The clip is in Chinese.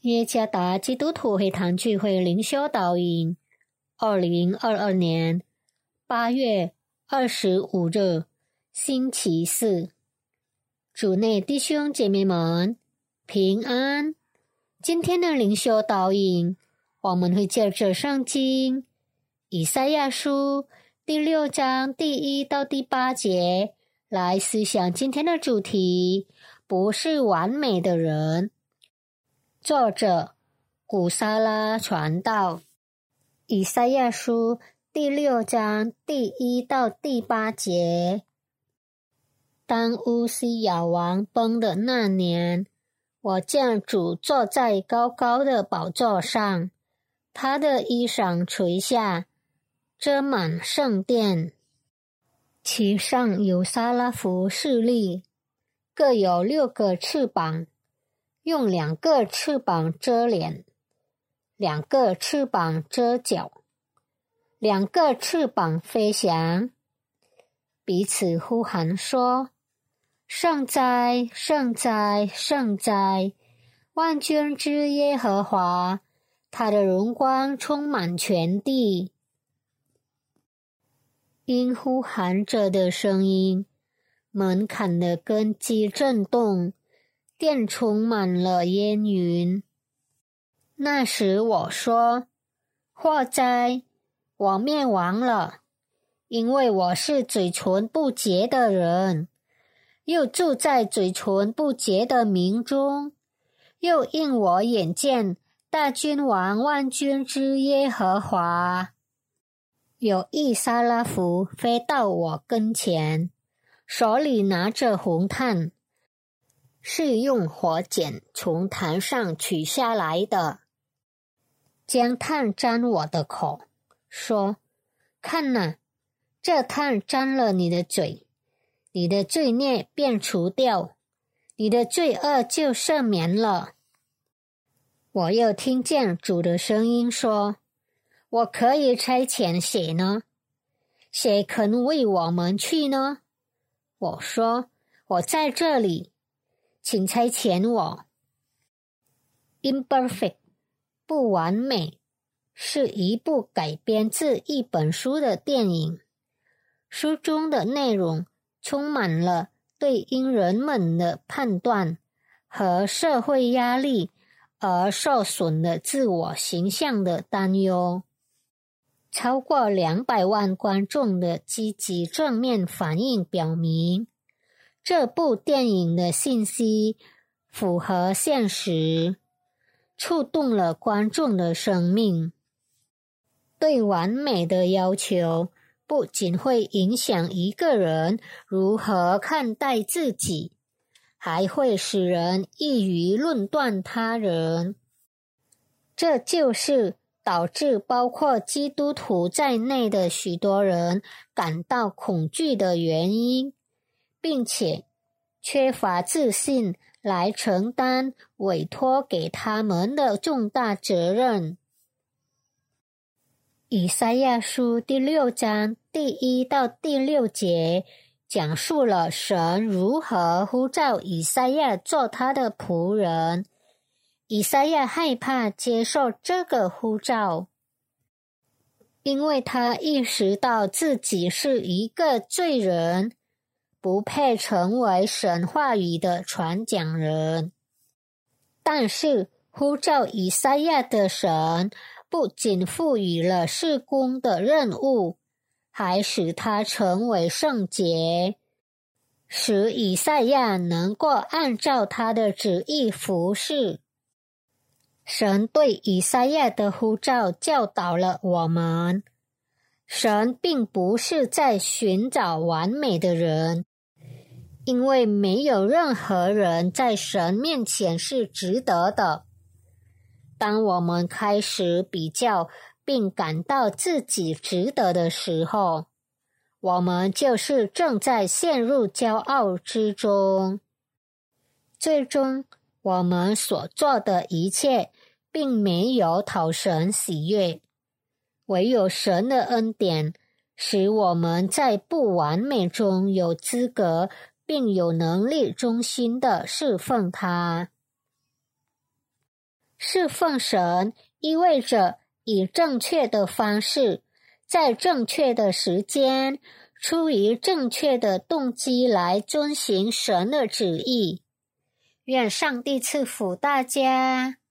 耶加达基督徒会堂聚会灵修导引2022年8月25日星期四，主内弟兄姐妹们平安。今天的灵修导引，我们会借着圣经以赛亚书第6章第1到第8节来思想今天的主题，不是完美的人。作者古沙拉传道，以赛亚书第6章第1到第8节。当乌西雅王崩的那年，我见主坐在高高的宝座上，他的衣裳垂下，遮满圣殿，其上有撒拉弗侍立，各有6个翅膀，用2个翅膀遮脸，2个翅膀遮脚，2个翅膀飞翔，彼此呼喊说：圣哉，圣哉，圣哉！万军之耶和华，他的荣光充满全地。因呼喊者的声音，门槛的根基震动，殿充满了烟云。那时我说：祸哉，我灭亡了，因为我是嘴唇不洁的人，又住在嘴唇不洁的民中，又因我眼见大君王万军之耶和华。有一撒拉弗飞到我跟前，手里拿着红炭，是用火剪从坛上取下来的，将炭沾我的口，说：看哪，这炭沾了你的嘴，你的罪孽便除掉，你的罪恶就赦免了。我又听见主的声音说：我可以差遣谁呢？谁肯为我们去呢？我说：我在这里，请差遣我。Imperfect 不完美是一部改编自一本书的电影，书中的内容充满了对因人们的判断和社会压力而受损的自我形象的担忧。超过200万观众的积极正面反应表明，这部电影的信息符合现实，触动了观众的生命。对完美的要求不仅会影响一个人如何看待自己，还会使人易于论断他人。这就是导致包括基督徒在内的许多人感到恐惧的原因，并且缺乏自信来承担委托给他们的重大责任。以赛亚书第6章第1到第6节讲述了神如何呼召以赛亚做他的仆人。以赛亚害怕接受这个呼召，因为他意识到自己是一个罪人，不配成为神话语的传讲人。但是呼召以赛亚的神不仅赋予了事工的任务，还使他成为圣洁，使以赛亚能够按照他的旨意服事。神对以赛亚的呼召教导了我们，神并不是在寻找完美的人，因为没有任何人在神面前是值得的。当我们开始比较并感到自己值得的时候，我们就是正在陷入骄傲之中。最终我们所做的一切并没有讨神喜悦，唯有神的恩典使我们在不完美中有资格并有能力忠心地侍奉他。 侍奉神意味着以正确的方式，在正确的时间，出于正确的动机来遵行神的旨意。愿上帝赐福大家。